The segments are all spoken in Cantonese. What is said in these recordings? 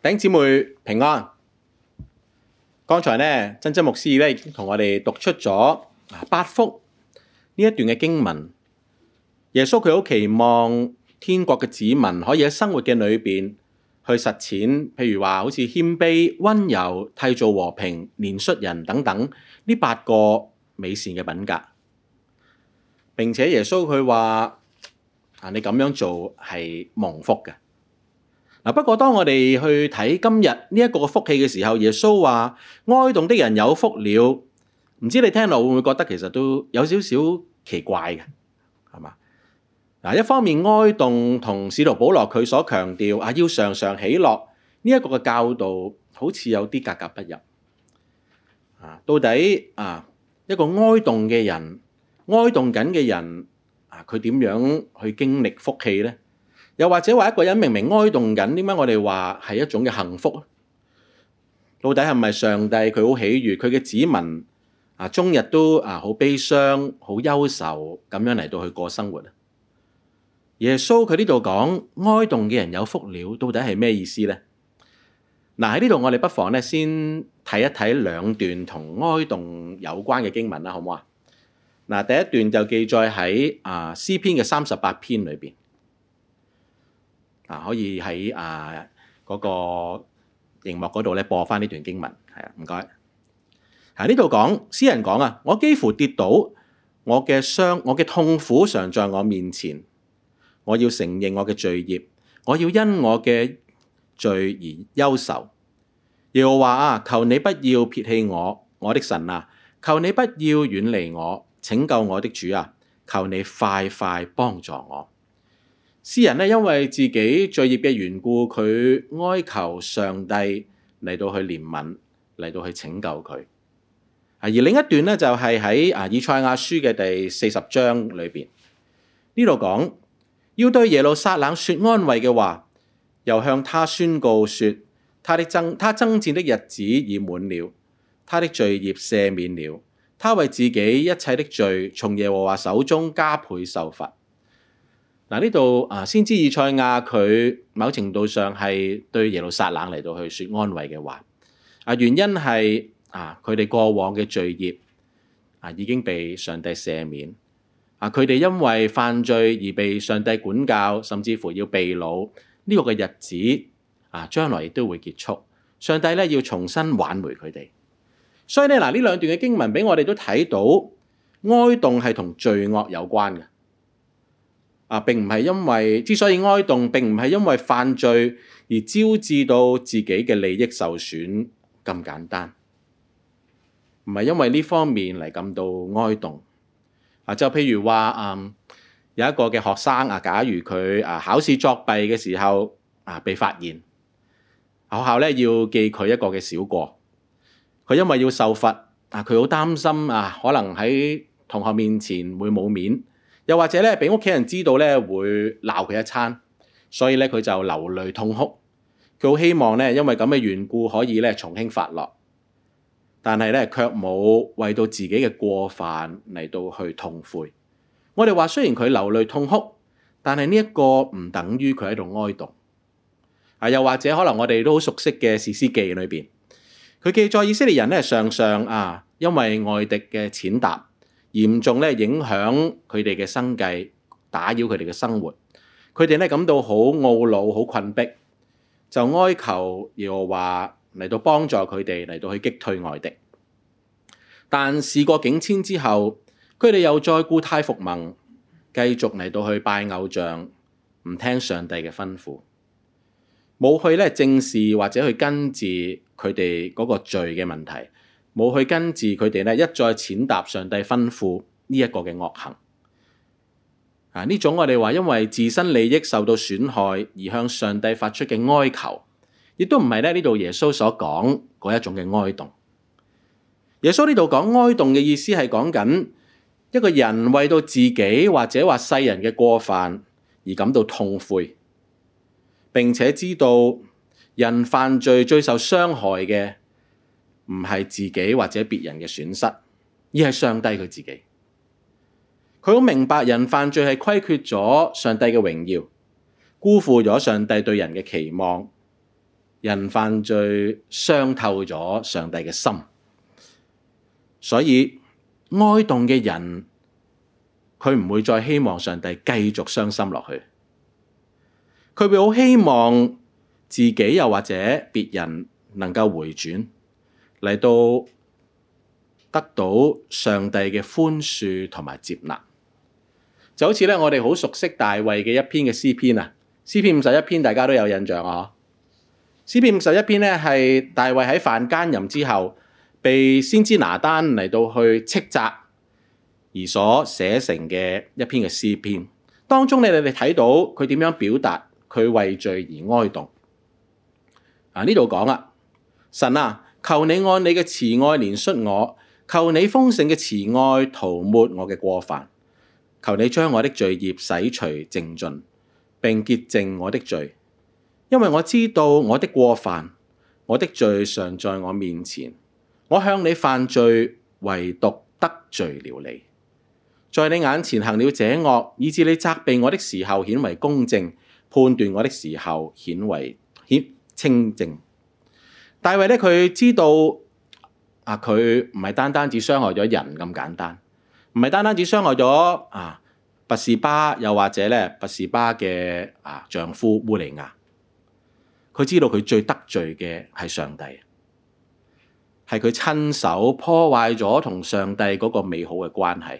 弟兄姊妹平安。剛才呢，珍珍牧師已經同我哋讀出咗八福呢一段嘅經文。耶穌佢好期望天國嘅子民可以喺生活嘅裏邊去實踐，譬如話好似謙卑、溫柔、締造和平、憐恤人等等呢8個美善嘅品格。並且耶穌佢話你咁樣做係蒙福嘅。不過當我哋去睇今日呢一個福氣嘅時候，耶穌話哀慟的人有福了。唔知你聽落會唔會覺得其實都有少少奇怪嘅，係嘛？一方面哀慟同使徒保羅佢所強調要常常喜樂呢一個嘅教導，好似有啲格格不入。到底一個哀慟嘅人，哀慟緊嘅人佢點樣去經歷福氣呢？又或者話一個人明明哀慟緊，點解我哋話係一種嘅幸福？到底係咪上帝佢好喜悅佢嘅子民終日都好悲傷、好憂愁咁樣嚟到去過生活？耶穌佢呢度講哀慟嘅人有福了，到底係咩意思呢？喺呢度我哋不妨先睇一睇2段同哀慟有關嘅經文啦，好唔好啊？第一段就記載喺詩篇嘅38篇裏邊。可以喺嗰個熒幕嗰度播翻呢段經文，唔該。呢度講詩人講我幾乎跌倒，我嘅傷，我嘅痛苦常在我面前。我要承認我嘅罪孽，我要因我嘅罪而憂愁。耶和華求你不要撇棄我，我的神求你不要遠離我，拯救我的主求你快快幫助我。詩人因為自己罪孽嘅緣故，佢哀求上帝嚟到去憐憫，嚟到去拯救佢。而另一段就係喺以賽亞書嘅第40章裏邊，呢度講要對耶路撒冷說安慰嘅話，又向他宣告說，他爭戰的日子已滿了，他的罪孽赦免了，他為自己一切的罪從耶和華手中加倍受罰。呢度先知以賽亞佢某程度上係對耶路撒冷嚟到去說安慰嘅話，原因係佢哋過往嘅罪孽已經被上帝赦免，佢哋因為犯罪而被上帝管教，甚至乎要被擄，呢個嘅日子將來亦都會結束，上帝要重新挽回佢哋。所以呢兩段嘅經文俾我哋都睇到哀慟係同罪惡有關嘅。並唔係因為之所以哀慟，並唔係因為犯罪而招致到自己嘅利益受損咁簡單，唔係因為呢方面嚟感到哀慟。就譬如話有一個嘅學生假如佢考試作弊嘅時候被發現，學校要記佢一個嘅小過，佢因為要受罰佢好擔心可能喺同學面前會冇面。又或者俾屋企人知道會鬧佢一餐，所以佢就流淚痛哭。佢好希望因為咁嘅緣故可以從輕發落，但係卻冇為到自己嘅過犯嚟到去痛悔。我哋話雖然佢流淚痛哭，但係呢一個唔等於佢喺度哀慟。又或者可能我哋都好熟悉嘅士師記裏邊，佢記載以色列人常常因為外敵嘅踐踏，嚴重影響佢哋嘅生計，打擾佢哋嘅生活。佢哋感到好懊惱、好困迫，就哀求耶和華嚟到幫助佢哋，嚟到去擊退外敵。但事過境遷之後，佢哋又再故態復萌，繼續嚟到去拜偶像，唔聽上帝嘅吩咐，冇去正視或者去根治佢哋嗰個罪嘅問題。冇去根治佢哋一再踐踏上帝吩咐呢一個嘅惡行。呢種我哋話因為自身利益受到損害而向上帝發出嘅哀求，亦都唔係呢度耶穌所講嗰一種嘅哀慟。耶穌呢度講哀慟嘅意思係講緊一個人為到自己或者話世人嘅過犯而感到痛悔，並且知道人犯罪最受傷害嘅唔係自己或者別人嘅損失，而係上帝佢自己。佢好明白人犯罪係虧缺咗上帝嘅榮耀，辜負咗上帝對人嘅期望， 人犯罪傷透咗上帝嘅心，所以哀慟嘅人佢唔會再希望上帝繼續傷心落去，佢會好希望自己又或者別人能夠回轉嚟到得到上帝嘅寬恕同埋接納。就好似咧，我哋好熟悉大衛嘅一篇嘅詩篇啊，詩篇51篇大家都有印象啊。詩篇51篇咧係大衛喺犯奸淫之後，被先知拿單嚟到去斥責而所寫成嘅一篇嘅詩篇。當中你哋睇到佢點樣表達佢為罪而哀慟。呢度講啊，神啊，求你按你嘅慈愛憐恤我，求你豐盛嘅慈愛塗抹我嘅過犯。求你將我的罪孽洗除淨盡，並潔淨我的罪，因為我知道我的過犯，我的罪常在我面前。我向你犯罪，唯獨得罪了你，在你眼前行了這惡，以致你責備我的時候顯為公正，判斷我的時候顯為清正。大衛咧，佢知道佢唔係單單只傷害咗人咁簡單。唔係單單只傷害咗拔示巴，又或者咧拔示巴嘅丈夫烏利亞，佢知道佢最得罪嘅係上帝，係佢親手破壞咗同上帝嗰個美好嘅關係。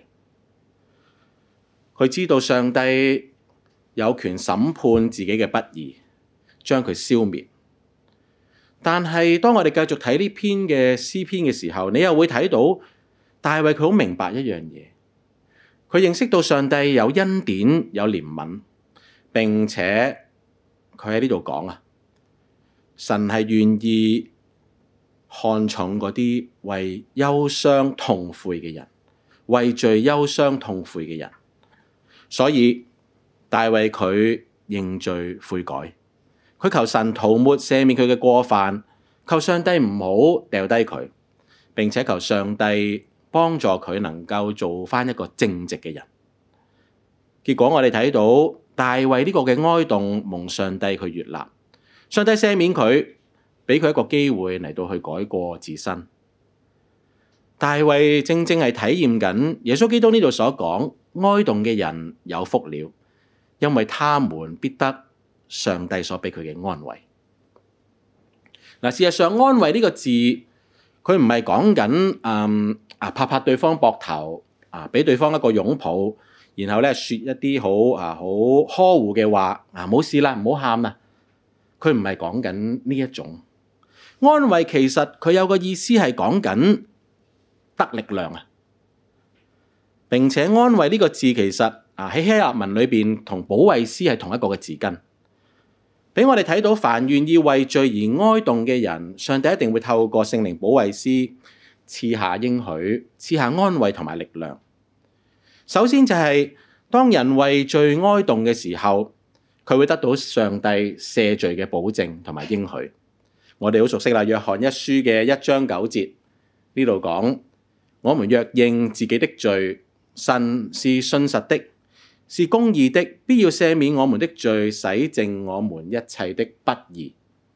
佢知道上帝有權審判自己嘅不義，將佢消滅。但係當我哋繼續睇呢篇嘅詩篇嘅時候，你又會睇到大衛佢好明白一樣嘢，佢認識到上帝有恩典有憐憫，並且佢喺呢度講神係願意看重嗰啲為憂傷痛悔嘅人，為罪憂傷痛悔嘅人。所以大衛佢認罪悔改，佢求神塗抹赦免佢嘅過犯，求上帝唔好掉低佢，並且求上帝幫助佢能夠做返一個正直嘅人。結果我哋睇到大衛呢個嘅哀慟蒙上帝佢悅納，上帝赦免佢，俾佢一個機會嚟到去改過自新。大衛正正係體驗緊耶穌基督呢度所講，哀慟嘅人有福了，因為他們必得上帝所俾佢嘅安慰。事實上安慰呢個字，佢唔係講緊拍拍對方膊頭，俾對方一個擁抱，然後咧說一啲好呵護嘅話，冇事啦，唔好喊啦。佢唔係講緊呢一種安慰，其實佢有個意思係講緊得力量啊。並且安慰呢個字其實喺希臘文裏邊同保惠師係同一個嘅字根，俾我哋睇到凡願意為罪而哀慟嘅人，上帝一定會透過聖靈保惠師賜下應許，賜下安慰同埋力量。首先就係當人為罪哀慟嘅時候，佢會得到上帝赦罪嘅保證同埋應許。我哋好熟悉啦，約翰一書嘅1章9節呢度講，我們若認自己的罪，神是信實的，是公義的，必要赦免我們的罪，洗淨我們一切的不義。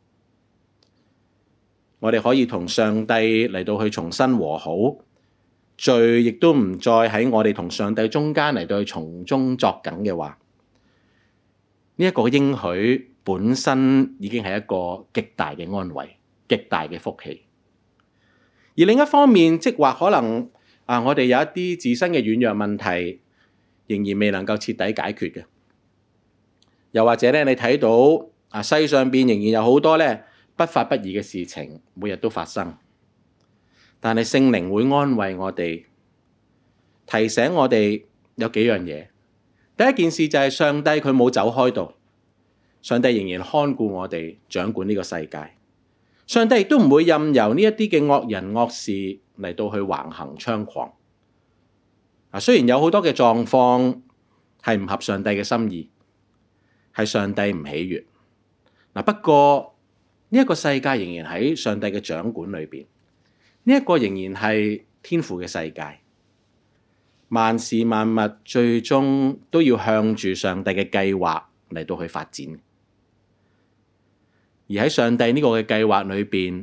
我哋可以同上帝嚟到去重新和好，罪亦都唔再喺我哋同上帝中間嚟到去從中作梗嘅話，呢一個應許本身已經係一個極大嘅安慰，極大嘅福氣。而另一方面，即或可能我哋有一啲自身嘅軟弱問題，仍然未能夠徹底解決嘅，又或者咧，你睇到世上邊仍然有好多咧不法不義嘅事情，每日都發生。但係聖靈會安慰我哋，提醒我哋有幾樣嘢。第一件事就係上帝佢冇走開到，上帝仍然看顧我哋，掌管呢個世界。上帝亦都唔會任由呢一啲嘅惡人惡事嚟到去橫行猖狂。雖然有好多嘅狀況係唔合上帝嘅心意，係上帝唔喜悅。不過呢一個世界仍然喺上帝嘅掌管裏邊，呢一個仍然係天父嘅世界。萬事萬物最終都要向住上帝嘅計劃嚟到去發展。 而喺上帝呢個嘅計劃裏邊，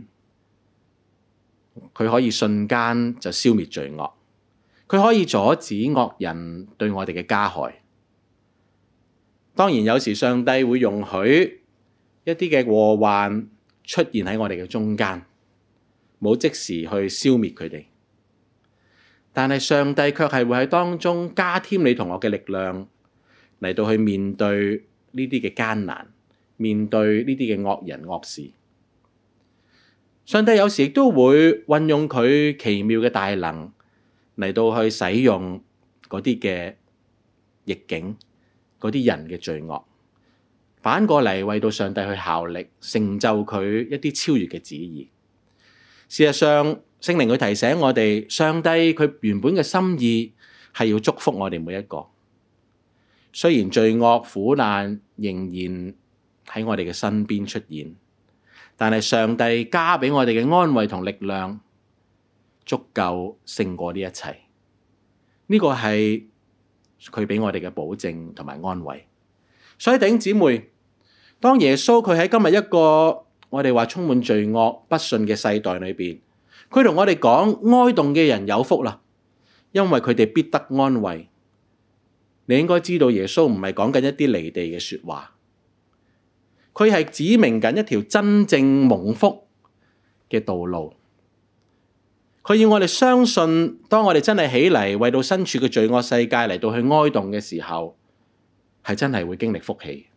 佢可以瞬間就消滅罪惡，佢可以阻止惡人對我哋嘅加害。當然有時上帝會容許一啲嘅禍患出現喺我哋嘅中間，冇即時去消滅佢哋，但係上帝卻係會喺當中加添你同我嘅力量，嚟到去面對呢啲嘅艱難，面對呢啲嘅惡人惡事。上帝有時亦都會運用佢奇妙嘅大能嚟到去使用嗰啲嘅逆境，嗰啲人嘅罪惡，反過嚟為到上帝去效力，成就佢一啲超越嘅旨意。事實上，聖靈佢提醒我哋，上帝佢原本嘅心意係要祝福我哋每一個。雖然罪惡苦難仍然喺我哋嘅身邊出現，但係上帝加俾我哋嘅安慰同力量，足夠勝過呢一切。呢個係佢俾我哋嘅保證同埋安慰。所以弟兄姊妹，當耶穌佢喺今日一個我哋話充滿罪惡不信嘅世代裏邊，佢同我哋講，哀慟嘅人有福啦，因為佢哋必得安慰。你應該知道耶穌唔係講緊一啲離地嘅說話，佢係指明緊一條真正蒙福嘅道路。佢要我哋相信，當我哋真係起嚟為到身處嘅罪惡世界嚟到去哀慟嘅時候，係真係會經歷福氣。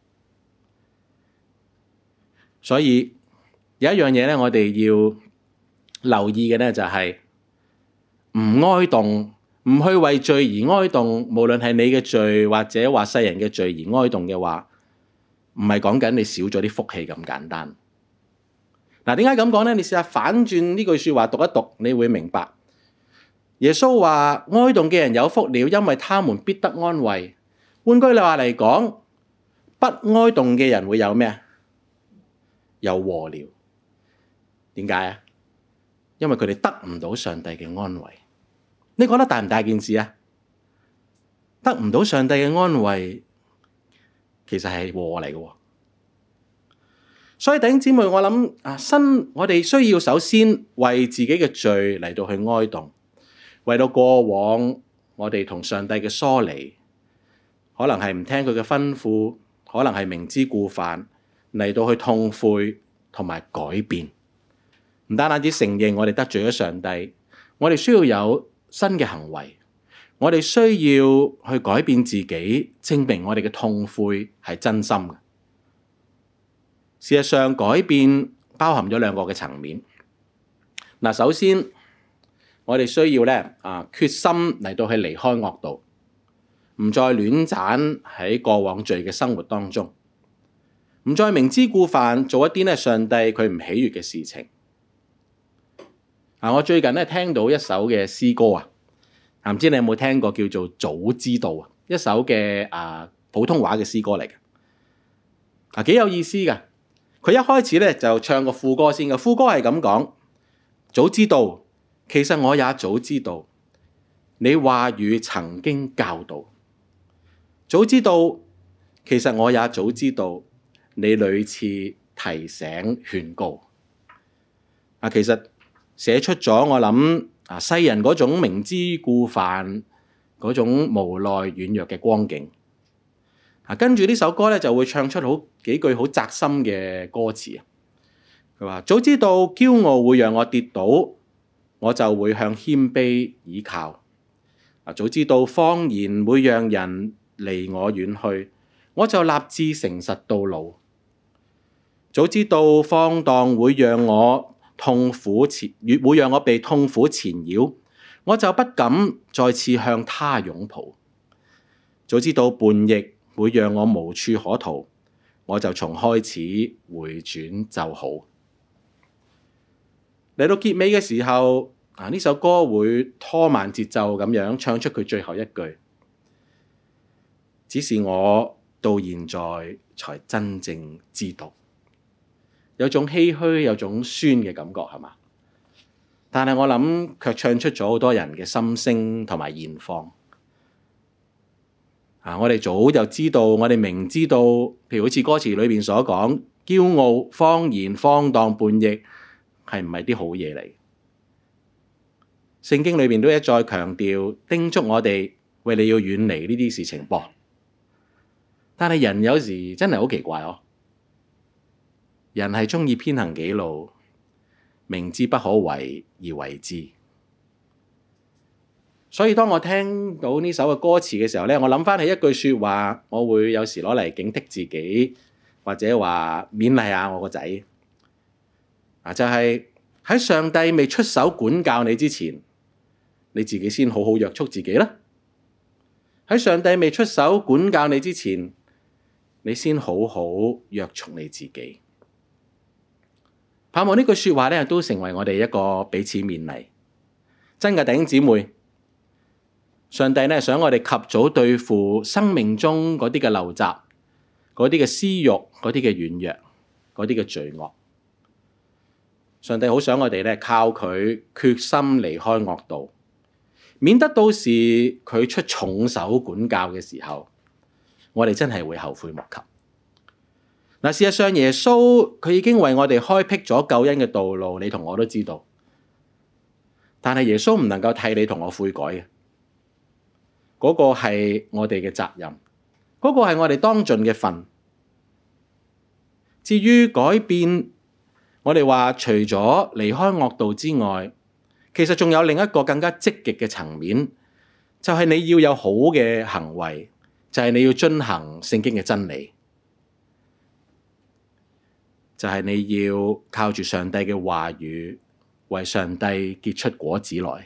所以有一樣嘢咧，我哋要留意嘅咧就係唔哀慟，唔去為罪而哀慟，無論係你嘅罪或者話世人嘅罪而哀慟嘅話，唔係講緊你少咗啲福氣咁簡單。嗱，點解咁講咧？你試下反轉呢句說話讀一讀，你會明白。耶穌話哀慟嘅人有福了，因為他們必得安慰。換句話嚟講，不哀慟嘅人會有咩啊？有禍了。點解啊？因為佢哋得唔到上帝嘅安慰。你覺得大唔大件事啊？得唔到上帝嘅安慰，其實係禍嚟嘅。所以弟兄姊妹，我諗我哋需要首先為自己嘅罪嚟到去哀慟，為到過往我哋同上帝嘅疏離，可能係唔聽佢嘅吩咐，可能係明知故犯，嚟到去痛悔同埋改變。唔單止承認我哋得罪咗上帝，我哋需要有新嘅行為，我哋需要去改變自己，證明我哋嘅痛悔係真心嘅。事實上，改變包含咗兩個嘅層面。嗱，首先我哋需要咧決心嚟到去離開惡道，唔再亂盞喺過往罪嘅生活當中，唔再明知故犯做一啲咧上帝佢唔喜悅嘅事情。我最近咧聽到一首嘅詩歌唔知你有冇聽過，叫做《早知道》一首嘅普通話嘅詩歌嚟嘅，幾有意思㗎。佢一開始咧就唱個副歌先嘅，副歌係咁講：早知道，其實我也早知道，你話語曾經教導。早知道，其實我也早知道，你屢次提醒勸告。其實寫出咗我諗世人嗰種明知故犯嗰種無奈軟弱嘅光景。跟住呢首歌咧就會唱出好幾句好扎心嘅歌詞。佢話：早知道驕傲會讓我跌倒，我就會向謙卑倚靠。早知道謊言會讓人離我遠去，我就立志誠實到老。早知道放蕩會讓我會讓我被痛苦纏繞，我就不敢再次向他擁抱。早知道叛逆會讓我無處可逃，我就從開始回轉就好。嚟到結尾嘅時候，呢首歌會拖慢節奏咁樣唱出佢最後一句：只是我到現在才真正知道。有種唏噓，有種酸嘅感覺，係嘛？但係我諗卻唱出咗好多人嘅心聲同埋現況。我哋早就知道，我哋明知道，譬如好似歌詞裏邊所講， 驕傲、謊言、荒蕩、叛逆，係唔係啲好嘢嚟？聖經裏面都一再強調，叮囑我哋，喂，你要遠離呢啲事情噃。但係人有時真係好奇怪哦，人係鍾意偏行己路，明知不可為而為之。所以當我聽到呢首嘅歌詞嘅時候咧，我諗返起一句說話，我會有時攞嚟警惕自己，或者話勉勵下我個仔。就係喺上帝未出手管教你之前，你自己先好好約束自己啦。喺上帝未出手管教你之前，你先好好約束你自己。盼望呢句說話咧，都成為我哋一個彼此勉勵。真嘅弟兄姊妹，上帝咧想我哋及早對付生命中嗰啲嘅陋習、嗰啲嘅私欲、嗰啲嘅軟弱、嗰啲嘅罪惡。上帝好想我哋咧靠佢決心離開惡道，免得到時佢出重手管教嘅時候，我哋真係會後悔莫及。嗱，事實上耶穌佢已經為我哋開闢咗救恩嘅道路，你同我都知道。但係耶穌唔能夠替你同我悔改嘅。嗰個係我哋嘅責任，嗰個係我哋當盡嘅份。至於改變，我哋話除咗離開惡道之外，其實仲有另一個更加積極嘅層面，就係你要有好嘅行為，就係你要遵行聖經嘅真理，就係你要靠住上帝嘅話語，為上帝結出果子來。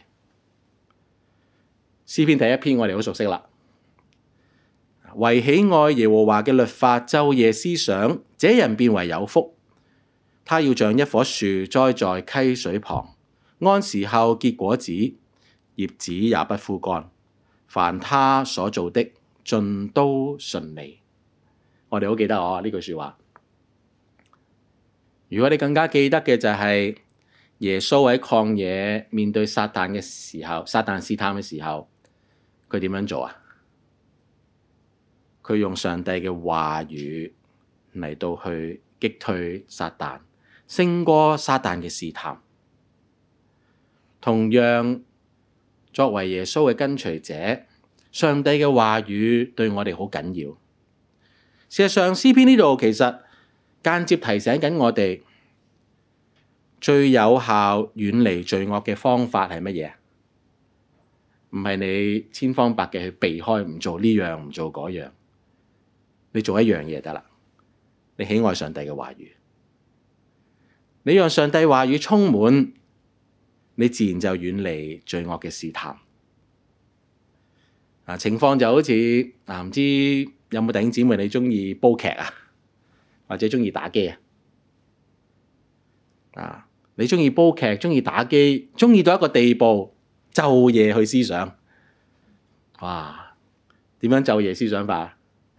詩篇第一篇我哋好熟悉啦，為喜愛耶和華嘅律法，晝夜思想，這人便為有福。他要像一棵樹栽在溪水旁，按時候結果子，葉子也不枯乾。凡他所做的，盡都順利。我哋好記得呢句說話。如果你更加記得嘅就係耶穌喺曠野面對撒旦嘅時候，撒旦試探嘅時候，佢點樣做啊？佢用上帝嘅話語嚟到去擊退撒旦，勝過撒旦嘅試探。同樣，作為耶穌嘅跟隨者，上帝嘅話語對我哋好緊要。事實上，詩篇呢度其實間接提醒緊我哋，最有效遠離罪惡嘅方法係乜嘢？唔係你千方百計去避開，唔做呢樣，唔做嗰樣。你做一樣嘢得啦。你喜愛上帝嘅話語，你讓上帝話語充滿，你自然就遠離罪惡嘅試探。情況就好似唔知有冇弟兄姊妹你鍾意煲劇啊，或者鍾意打機啊？你鍾意煲劇，鍾意打機，鍾意到一個地步，晝夜去思想。哇！點樣晝夜思想法？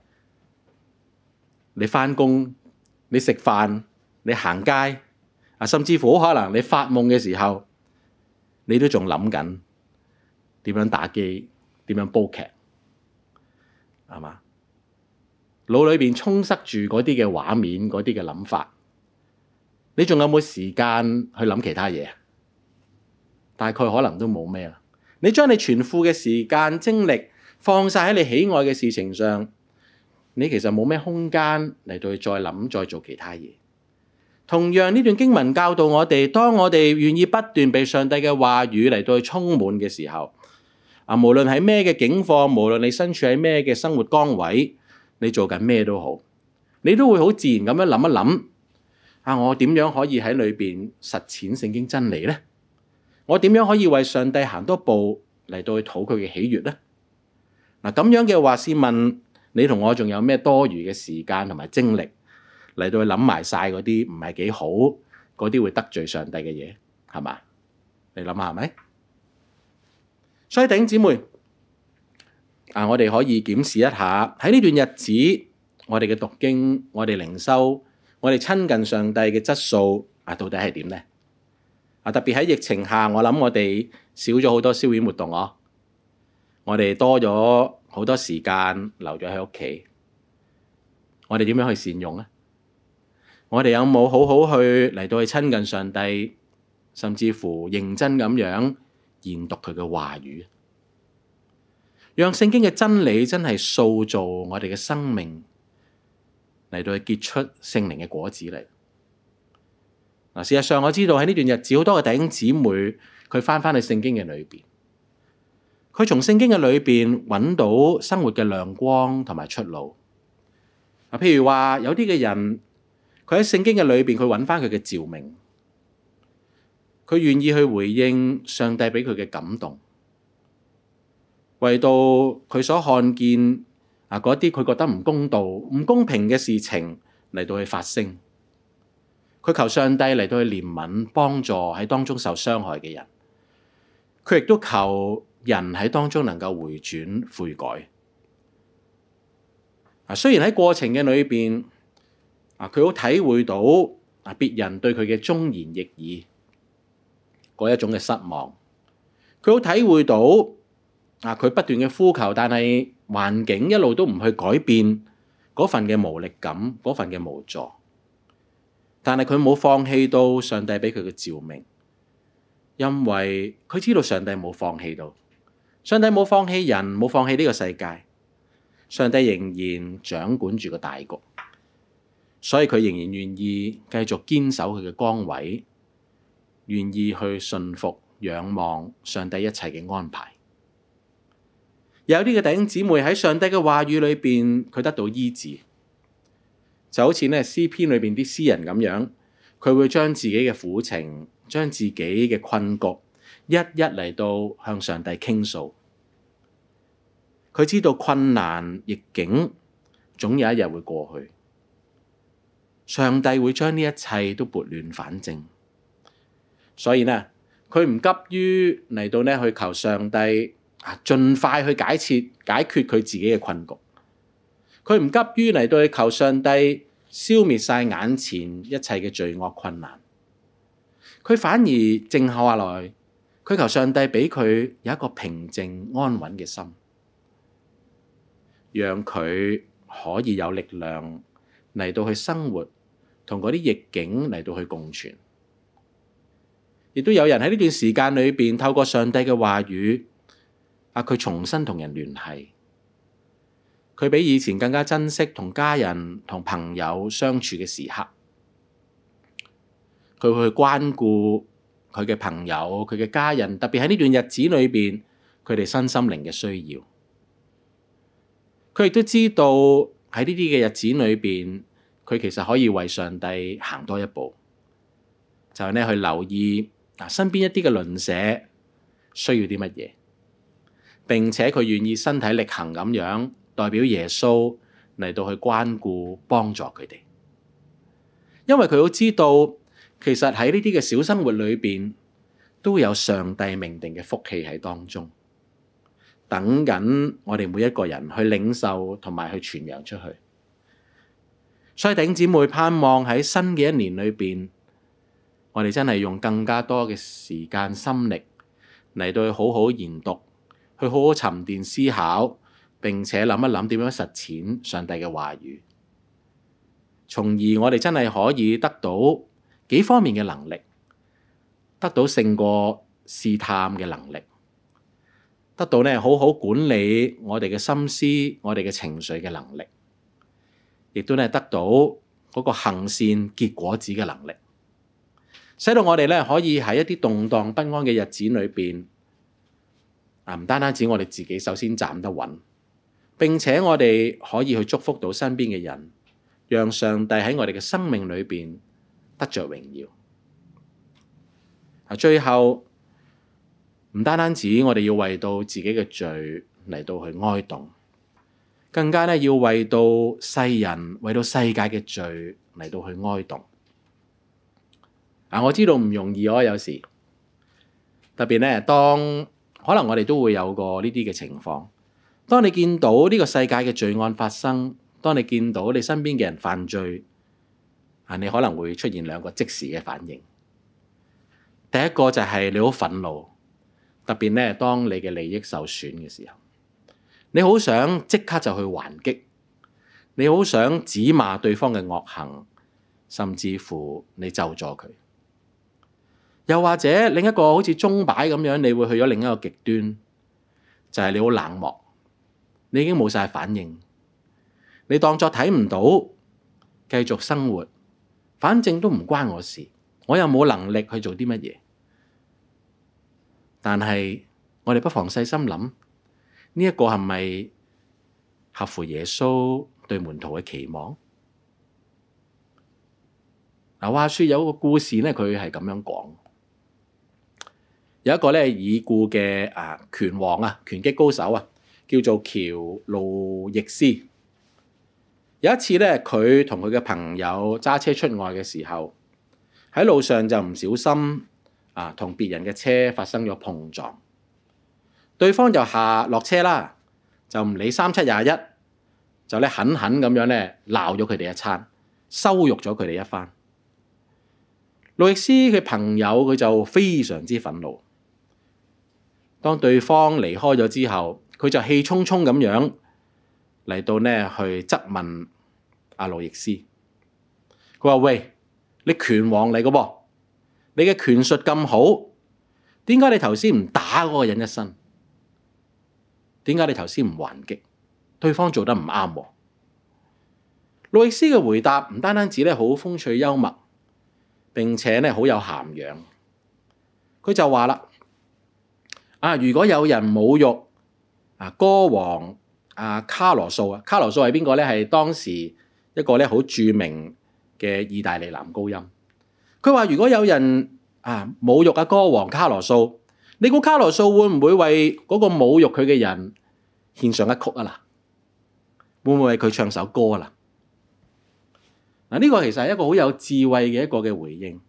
你返工，你食飯，你行街，甚至乎可能你發夢嘅時候，你都仲諗緊點樣打機，點樣煲劇，係嘛？腦裏邊充塞住嗰啲嘅畫面，嗰啲嘅諗法，你仲有冇時間去諗其他嘢？大概可能都冇咩啦。你將你全副嘅時間精力放晒喺你喜愛嘅事情上，你其實冇咩空間嚟到去再諗再做其他嘢。同樣呢段經文教導我哋，當我哋願意不斷被上帝嘅話語嚟到去充滿嘅時候，無論喺咩嘅境況，無論你身處喺咩嘅生活崗位，你做緊咩都好，你都會好自然咁樣諗一諗，我點樣可以喺裏邊實踐聖經真理呢？我點樣可以為上帝行多步嚟到去討佢嘅喜悅呢？咁樣嘅話，試問你同我仲有咩多餘嘅時間同埋精力嚟到去諗埋晒嗰啲唔係幾好，嗰啲會得罪上帝嘅嘢，係嘛？你諗下係咪？所以弟兄姊妹，我哋可以檢視一下喺呢段日子，我哋嘅讀經、我哋靈修、我哋親近上帝嘅質素到底係點呢？特別喺疫情下，我諗我哋少咗好多消遣活動我哋多咗好多時間留咗喺屋企，我哋點樣去善用呢？ 我哋有冇好好去嚟到去親近上帝，甚至乎認真咁樣研讀佢嘅話語，讓聖經嘅真理真係塑造我哋嘅生命，嚟到去結出聖靈嘅果子嚟。事實上我知道喺呢段日子，好多嘅弟兄姊妹佢翻去聖經嘅裏邊，佢從聖經嘅裏邊揾到生活嘅亮光同埋出路。譬如話有啲嘅人，佢喺聖經嘅裏邊，佢揾翻佢嘅召命，佢願意去回應上帝俾佢嘅感動，為到佢所看見嗰啲佢覺得唔公道、唔公平嘅事情嚟到去發聲。佢求上帝嚟到去憐憫，幫助喺當中受傷害嘅人。佢亦都求人喺當中能夠回轉悔改。雖然喺過程嘅裏邊，佢好體會到別人對佢嘅忠言逆耳嗰一種嘅失望。佢好體會到佢不斷嘅呼求，但係環境一路都唔去改變嗰份嘅無力感，嗰份嘅無助。但係佢冇放棄到上帝俾佢嘅召命，因為佢知道上帝冇放棄到，上帝冇放棄人，冇放棄呢個世界，上帝仍然掌管住個大局，所以佢仍然願意繼續堅守佢嘅崗位，願意去順服仰望上帝一切嘅安排。有啲嘅弟兄姊妹喺上帝嘅話語裏邊，佢得到醫治。就好似詩篇裏邊啲詩人咁樣，佢會將自己嘅苦情，將自己嘅困局，一一嚟到向上帝傾訴。佢知道困難逆境總有一日會過去，上帝會將呢一切都撥亂反正。所以呢，佢唔急於嚟到去求上帝盡快去解決佢自己嘅困局。佢唔急於嚟到去求上帝消滅晒眼前一切嘅罪惡困難，佢反而靜下來，佢求上帝俾佢有一個平靜安穩嘅心，讓佢可以有力量嚟到去生活，同嗰啲逆境嚟到去共存。亦都有人喺呢段時間裏邊透過上帝嘅話語，佢重新同人聯繫。佢比以前更加珍惜同家人同朋友相處嘅時刻，佢會去關顧佢嘅朋友、佢嘅家人，特別喺呢段日子裏邊，佢哋身心靈嘅需要。佢亦都知道喺呢啲嘅日子裏邊，佢其實可以為上帝行多一步，就係去留意身邊一啲嘅鄰舍需要啲乜嘢，並且佢願意身體力行咁樣，代表耶穌嚟到去關顧幫助佢哋，因為佢好知道，其實喺呢啲嘅小生活裏邊，都有上帝命定嘅福氣喺當中，等緊我哋每一個人去領受同埋去傳揚出去。所以弟兄姊妹，盼望喺新嘅一年裏邊，我哋真係用更加多嘅時間心力嚟到去好好研讀，去好好沉澱思考，並且諗一諗點樣實踐上帝嘅話語，從而我哋真係可以得到幾方面嘅能力，得到勝過試探嘅能力，得到好好管理我哋嘅心思、我哋嘅情緒嘅能力，亦都得到嗰個行善結果子嘅能力，使到我哋可以喺一啲動盪不安嘅日子裏邊，唔單止我哋自己首先站得穩，並且我哋可以去祝福到身邊嘅人，讓上帝喺我哋嘅生命裏邊得着榮耀。最後唔單止我哋要為到自己嘅罪嚟到去哀慟，更加要為到世人、為到世界嘅罪嚟到去哀慟。我知道唔容易，有時特別當可能我哋都會有過呢啲嘅情況。當你見到呢個世界嘅罪案發生，當你見到你身邊嘅人犯罪，你可能會出現兩個即時嘅反應。第一個就係你好憤怒，特別當你嘅利益受損嘅時候，你好想即刻就去還擊，你好想指罵對方嘅惡行， 甚至乎你咒詛佢。又或者另一個好似鐘擺咁樣，你會去咗另一個極端，就係你好冷漠，你已經冇晒反應，你當作睇唔到，繼續生活，反正都唔關我事，我又冇能力去做啲乜嘢。但係我哋不妨細心諗，呢一個係咪合乎耶穌對門徒嘅期望？嗱，話說有個故事咧，佢係咁樣講。有一個咧已故嘅拳王拳擊高手叫做喬路易斯。有一次咧，佢同佢嘅朋友揸車出外嘅時候，喺路上就唔小心同別人嘅車發生咗碰撞，對方就落車啦，就唔理3721，就咧狠狠咁樣咧鬧咗佢哋一餐，羞辱咗佢哋一番。路易斯嘅朋友佢就非常之憤怒。當對方離開咗之後，佢就氣沖沖咁樣嚟到呢去質問路易斯。佢話：喂，你拳王嚟嘅噃，你嘅拳術咁好，點解你頭先唔打嗰個人一身？點解你頭先唔還擊？對方做得唔啱喎。路易斯嘅回答唔單止咧好風趣幽默，並且咧好有涵養。佢就話啦：如果有人侮辱歌王卡羅素，卡羅素係邊個咧？係當時一個咧好著名嘅意大利男高音。佢話：如果有人侮辱歌王卡羅素，你估卡羅素會唔會為嗰個侮辱佢嘅人獻上一曲啊？嗱，會唔會為佢唱首歌啊？嗱，呢個其實係一個好有智慧嘅一個嘅回應。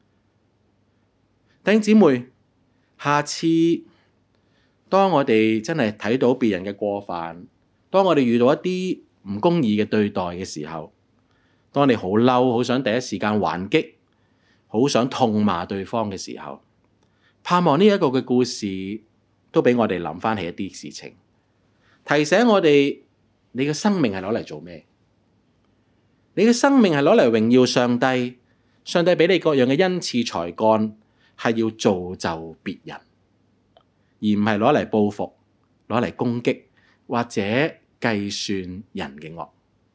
弟兄姊妹，下次當我哋真係睇到別人嘅過犯，當我哋遇到一啲唔公義嘅對待嘅時候，當你好嬲，好想第一時間還擊，好想痛罵對方嘅時候，盼望呢一個嘅故事都俾我哋諗翻起一啲事情，提醒我哋你嘅生命係攞嚟做咩？你嘅生命係攞嚟榮耀上帝，上帝俾你各樣嘅恩賜才幹係要造就別人，而唔係攞嚟報復、攞嚟攻擊或者計算人嘅惡。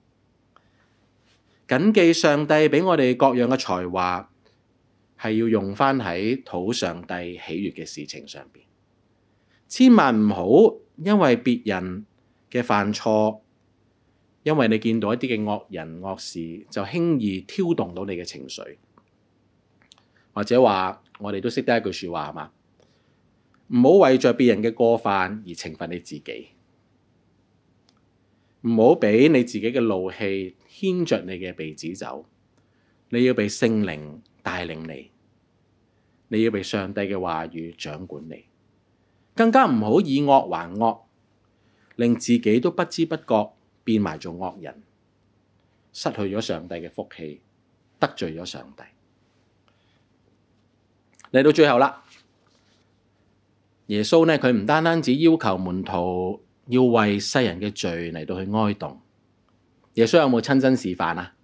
謹記上帝俾我哋各樣嘅才華係要用翻喺討上帝喜悅嘅事情上邊，千萬唔好因為別人嘅犯錯，因為你見到一啲嘅惡人惡事，就輕易挑動到你嘅情緒，或者話我哋都識得一句說話係嘛？唔好為着別人嘅過犯而懲罰你自己，唔好俾你自己嘅怒氣牽着你嘅鼻子走。你要被聖靈帶領你，你要被上帝嘅話語掌管你，更加唔好以惡還惡，令自己都不知不覺變埋做惡人，失去咗上帝嘅福氣，得罪咗上帝。嚟到最後啦，耶穌呢，佢唔單單只要求門徒要為世人嘅罪嚟到去哀慟，耶穌有冇親身示範啊？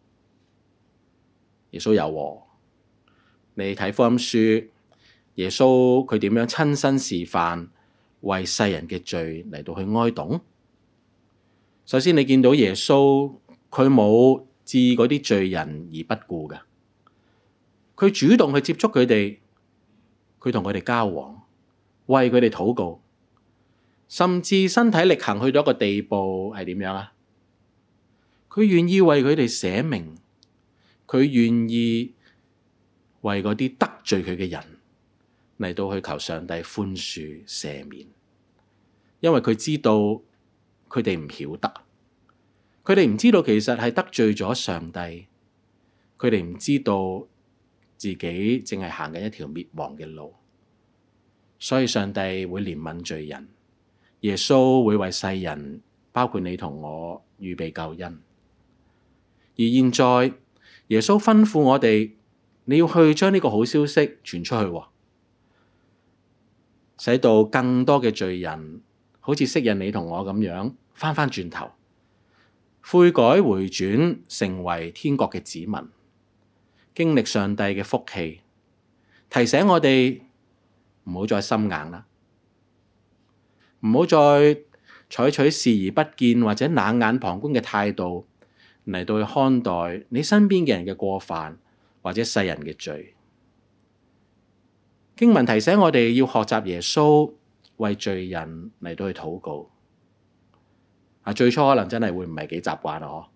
耶穌有喎。你睇福音書，耶穌佢點樣親身示範為世人嘅罪嚟到去哀慟？首先你見到耶穌佢冇置嗰啲罪人而不顧嘅，佢主動去接觸佢哋，佢同佢哋交往，為佢哋禱告，甚至身體力行去到一個地步係點樣啊？佢願意為佢哋捨命，佢願意為嗰啲得罪佢嘅人嚟到去求上帝寬恕赦免，因為佢知道佢哋唔曉得，佢哋唔知道其實係得罪咗上帝，佢哋唔知道自己淨係行緊一條滅亡嘅路，所以上帝會憐憫罪人，耶穌會為世人，包括你同我預備救恩。而現在耶穌吩咐我哋，你要去將呢個好消息傳出去，使到更多嘅罪人好似昔日你同我咁樣翻轉頭，悔改回轉成為天國嘅子民， 經歷上帝嘅福氣，提醒我哋唔好再心硬啦，唔好再採取視而不見或者冷眼旁觀嘅態度嚟到去看待你身邊嘅人嘅過犯或者世人嘅罪。經文提醒我哋要學習耶穌為罪人嚟到去禱告。最初可能真係會唔係幾習慣咯，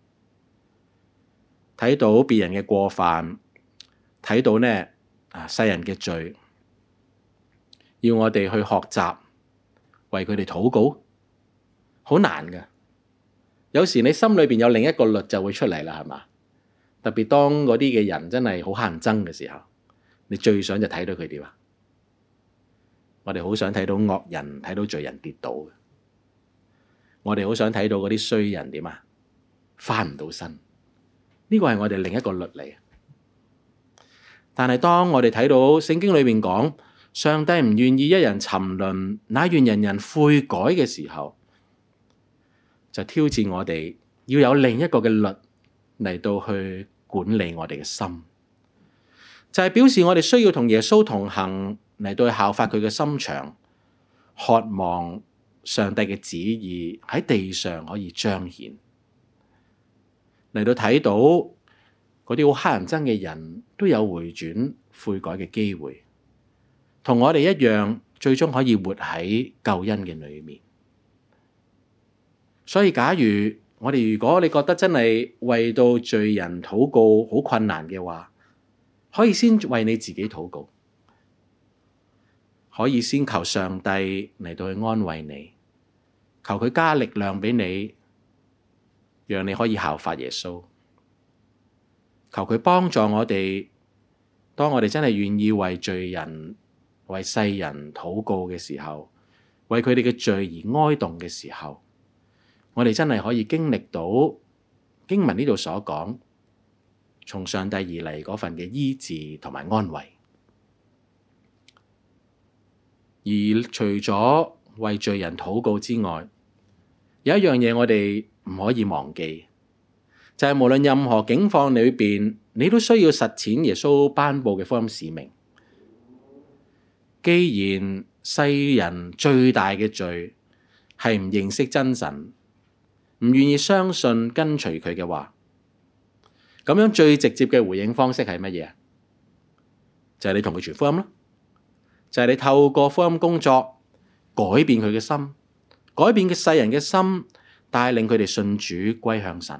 睇到別人嘅過犯，睇到呢世人嘅罪，要我哋去學習為佢哋禱告，好難㗎。有時你心裏邊有另一個律就會出嚟啦，係嘛？特別當嗰啲嘅人真係好乞人憎嘅時候，你最想就睇到佢點啊？我哋好想睇到惡人，睇到罪人跌倒。我哋好想睇到嗰啲衰人點啊？翻唔到身。呢個係我哋另一個律嚟。但係當我哋睇到聖經裏面講，上帝唔願意一人沉淪，乃願人人悔改嘅時候，就挑戰我哋要有另一個嘅律嚟到去管理我哋嘅心，就係表示我哋需要同耶穌同行，嚟到去效法佢嘅心腸，渴望上帝嘅旨意喺地上可以彰顯，嚟到睇到嗰啲好乞人憎嘅人都有回轉悔改嘅機會，同我哋一樣，最終可以活喺救恩嘅裏面。所以假如如果你覺得真係為到罪人禱告好困難嘅話，可以先為你自己禱告，可以先求上帝嚟到去安慰你，求佢加力量俾你，讓你可以效法耶穌。求佢幫助我哋，當我哋真係願意為罪人、為世人禱告嘅時候，為佢哋嘅罪而哀慟嘅時候，我哋真係可以經歷到經文呢度所講，從上帝而嚟嗰份嘅醫治同埋安慰。而除咗為罪人禱告之外，有一樣嘢我哋唔可以忘記，就係無論任何境況裏邊，你都需要實踐耶穌頒布嘅福音使命。既然世人最大嘅罪係唔認識真神，唔願意相信跟隨佢嘅話，咁樣最直接嘅回應方式係乜嘢？就係你同佢傳福音咯，就係你透過福音工作改變佢嘅心，改變嘅世人嘅心，帶領佢哋信主歸向神。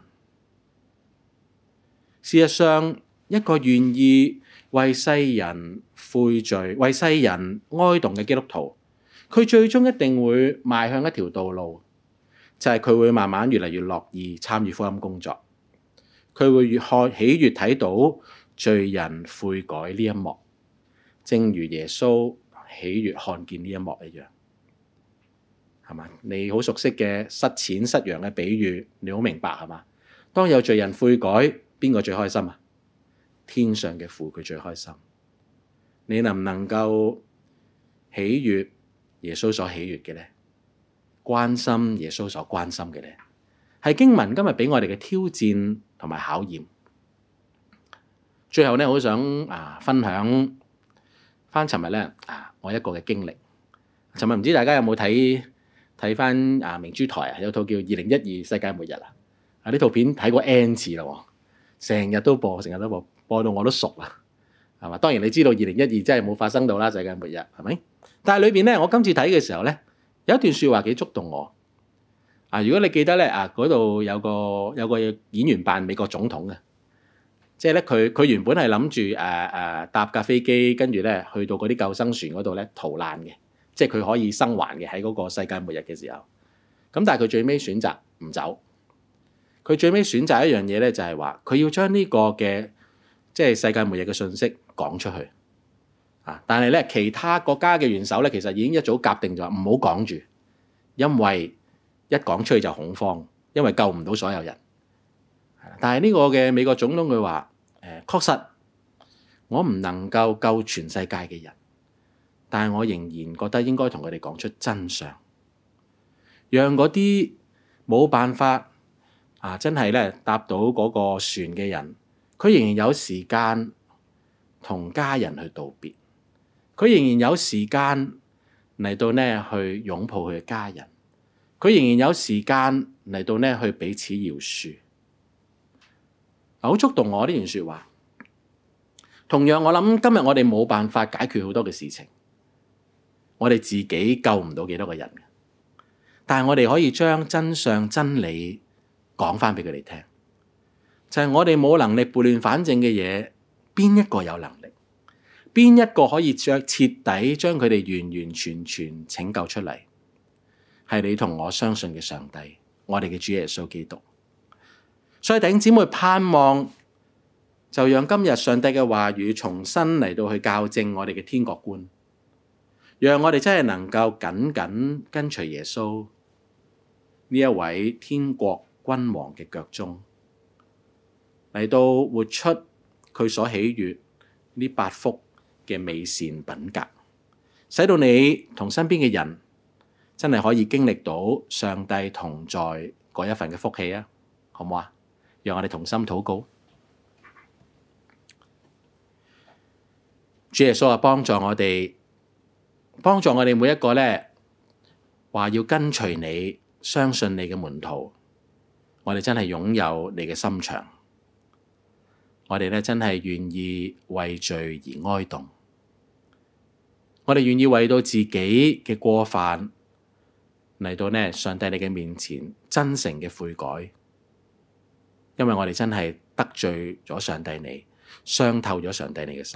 事實上，一個願意為世人悔罪、為世人哀慟嘅基督徒，佢最終一定會邁向一條道路，就係佢會慢慢越嚟越樂意參與福音工作，佢會越喜悅睇到罪人悔改呢一幕，正如耶穌喜悅看見呢一幕一樣，係嘛？你好熟悉嘅失錢失羊嘅比喻，你好明白係嘛？當有罪人悔改，邊個最開心啊？天上嘅父佢最開心。你能唔能夠喜悅耶穌所喜悅嘅咧？關心耶穌所關心嘅咧？係經文今日俾我哋嘅挑戰同埋考驗。最後咧，我好想分享翻尋日咧我一個嘅經歷。尋日唔知大家有冇睇翻明珠台有套叫《2012世界末日》呢套片睇過 N 次啦，成日都播，播到我都熟啦，係嘛？當然你知道2012真係冇發生到啦，世界末日係咪？但係裏邊咧，我今次睇嘅時候咧，有一段説話幾觸動我。如果你記得咧嗰度有個演員扮美國總統嘅，即係咧佢原本係諗住搭架飛機，跟住咧去到嗰啲救生船嗰度咧逃難嘅，即係佢可以生還嘅喺嗰個世界末日嘅時候。咁但係佢最尾選擇唔走。佢最尾選擇一樣嘢咧，就係話佢要將呢個嘅即係世界末日嘅信息講出去。但係咧其他國家嘅元首咧，其實已經一早夾定咗唔好講住，因為一講出去就恐慌，因為救唔到所有人。但係呢個嘅美國總統佢話確實我唔能夠救全世界嘅人，但係我仍然覺得應該同佢哋講出真相，讓嗰啲冇辦法真係咧搭到嗰個船嘅人， 佢仍然有時間同家人去道別，佢仍然有時間嚟到呢去擁抱佢嘅家人，佢仍然有時間嚟到呢去彼此饒恕。好觸動我呢段說話。同樣，我諗今日我哋冇辦法解決好多嘅事情，我哋自己救唔到幾多個人，但係我哋可以將真相真理講翻俾佢哋聽，就係我哋冇能力撥亂反正嘅嘢，邊一個有能力？邊一個可以徹底將佢哋完完全全拯救出嚟？係你同我相信嘅上帝，我哋嘅主耶穌基督。所以弟兄姊妹，盼望就讓今日上帝嘅話語重新嚟到去校正我哋嘅天國觀，讓我哋真係能夠緊緊跟隨耶穌呢一位天國君王嘅腳蹤，嚟到活出佢所喜悅呢8福嘅美善品格，使到你同身邊嘅人真係可以經歷到上帝同在嗰一份嘅福氣啊！好唔好啊？讓我哋同心禱告。主耶穌啊，幫助我哋每一個呢話要跟隨你、相信你嘅門徒，我哋真係擁有你嘅心腸，我哋呢真係願意為罪而哀慟，我哋願意為到自己嘅過犯嚟到呢上帝你嘅面前真誠嘅悔改。因為我哋真係得罪咗上帝你，傷透咗上帝你嘅心。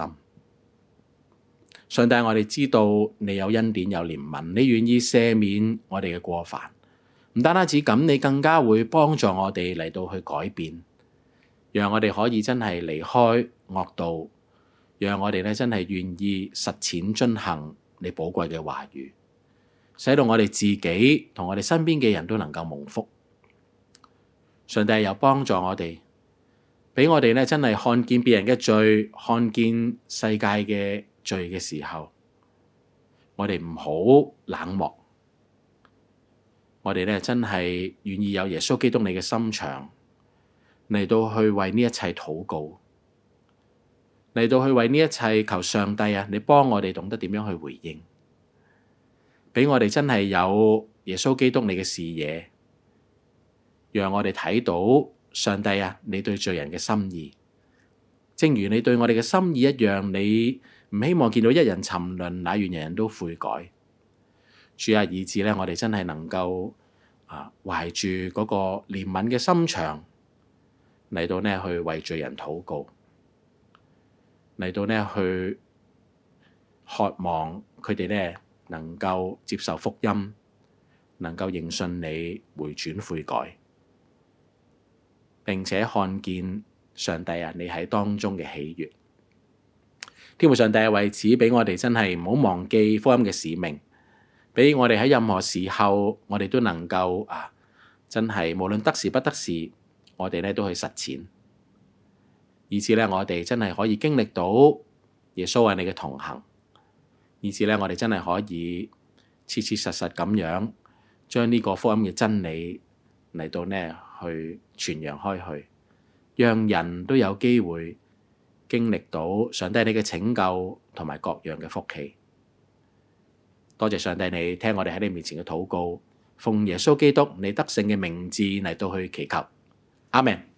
上帝，我哋知道你有恩典有憐憫，你願意赦免我哋嘅過犯。唔單止咁，你更加會幫助我哋嚟到去改變，讓我哋可以真係離開惡道，讓我哋咧真係願意實踐遵行你寶貴嘅話語，使到我哋自己同我哋身邊嘅人都能夠蒙福。上帝又幫助我哋，俾我哋咧真係看見別人嘅罪，看見世界嘅罪嘅時候，我哋唔好冷漠，我哋咧真係願意有耶穌基督你嘅心腸嚟到去為呢一切禱告，嚟到去為呢一切求上帝啊，你幫我哋懂得點樣去回應，俾我哋真係有耶穌基督你嘅視野。讓我哋睇到上帝啊，你對罪人嘅心意，正如你對我哋嘅心意一樣，你唔希望見到一人沉淪，乃願人人都悔改。主啊，以致咧，我哋真係能夠懷住嗰個憐憫嘅心腸嚟到呢去為罪人禱告，嚟到呢去渴望佢哋呢能夠接受福音，能夠認信你，回轉悔改。並且看見上帝啊，你喺當中嘅喜悅。天父上帝為此俾我哋真係唔好忘記福音嘅使命，俾我哋喺任何時候，我哋都能夠真係無論得時不得時，我哋咧都去實踐，以至咧我哋真係可以經歷到耶穌係你嘅同行，以至咧我哋真係可以切切實實咁樣將呢個福音嘅真理嚟到呢去傳揚開去，讓人都有機會經歷到上帝你嘅拯救同埋各樣嘅福氣。多謝上帝你聽我哋喺你面前嘅禱告，奉耶穌基督你得勝嘅名字嚟到去祈求，阿們。